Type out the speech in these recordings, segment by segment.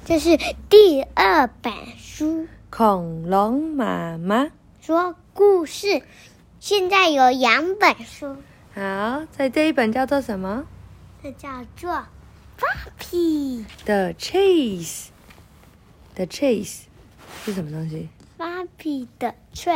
这是第2本书， 恐龙妈妈说故事。现在有2本书。 好，在这一本叫做什么？ 这叫做 Flappy The Chase。The Chase 是什么东西 Flappy 的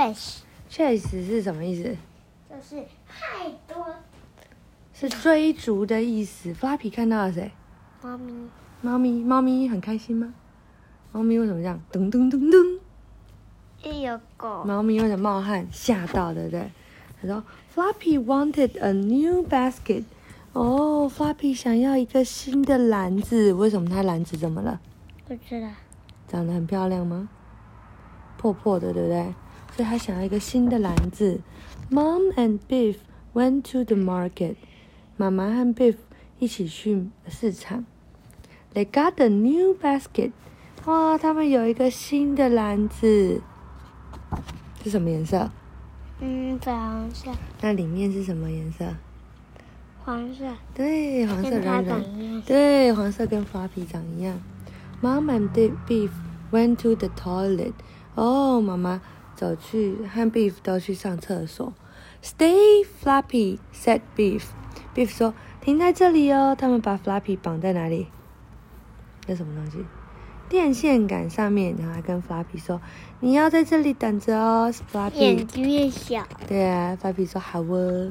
Chase 是什么意思？ 就是太多。 是追逐的意思。Flappy 看到了谁？猫咪很开心吗？猫咪为什么这样？噔噔噔噔。 有狗。 猫咪为什么冒汗？吓到，对不对？他说 Flappy wanted a new basket。哦 ，Flappy 想要一个新的篮子。为什么它篮子怎么了？ 不知道。 长得很漂亮吗？破破的，对不对？所以他想要一个新的篮子。Mom and Biff went to the market。妈妈和 Biff 一起去市场。They got a new basket。哇，他们有一个新的篮子。是什么颜色？ 粉红色。 那里面是什么颜色？ 黄色。 对，黄色跟它软软。 长一样。 对，黄色跟 Flappy 长一样。Mom and Biff went to the toilet。哦，妈妈走去和 Biff 都去上厕所。Stay, Flappy, said Biff。Biff 说：“停在这里哦。”他们把 Flappy 绑在哪里？那什么东西？电线杆上面。然后还跟 Flappy 说：“你要在这里等着哦。” Flappy 眼睛越小。 对啊 ，Flappy 说：“好哦。”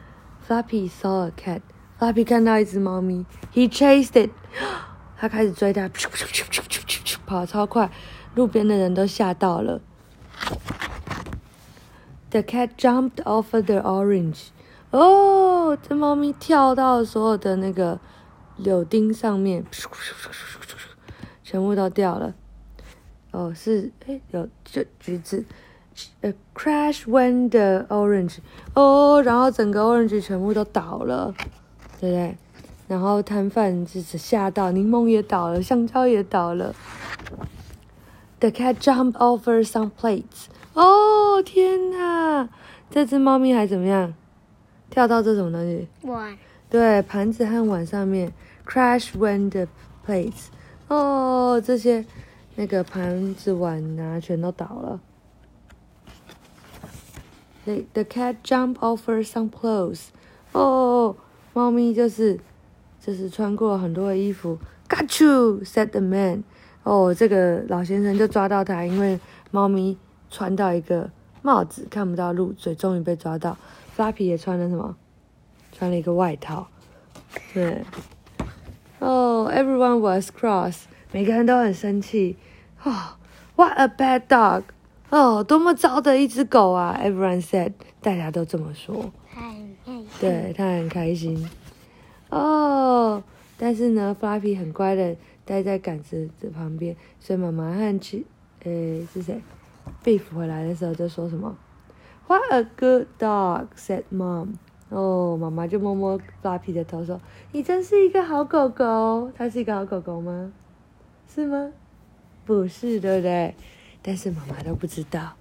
Flappy saw a cat。Flappy 看到一只猫咪 ，He chased it。他开始追它，跑超快，路边的人都吓到了。The cat jumped over the orange。哦，这猫咪跳到所有的那个柳丁上面，全部都掉了。哦，是有橘子。Crash went the orange。哦，然后整个 orange 全部都倒了，对不对？然后摊贩就是吓到，柠檬也倒了，香蕉也倒了。The cat jumped over some plates。哦，天哪！这只猫咪还怎么样？跳到这什么东西？ 碗。 对，盘子和碗上面。Crash went the plates。哦，这些那个盘子碗啊，全都倒了。The cat jumped over some clothes。哦，猫咪就是穿过很多的衣服。Got you, said the man。哦，这个老先生就抓到他，因为猫咪穿到一个帽子，看不到路，所以终于被抓到。Flappy 也穿了什么？穿了一个外套。对。Everyone was cross。每个人都很生气。What a bad dog。多么糟的一只狗啊 ！Everyone said， 大家都这么说。 他很开心。 对，他很开心。但是呢 ，Flappy 很乖的待在杆子的旁边，所以妈妈和是谁 ？Biff 回来的时候就说什么 ？What a good dog， said Mom。妈妈就摸摸 Flappy 的头说：“你真是一个好狗狗。”它是一个好狗狗吗？是吗？不是，对不对？但是妈妈都不知道。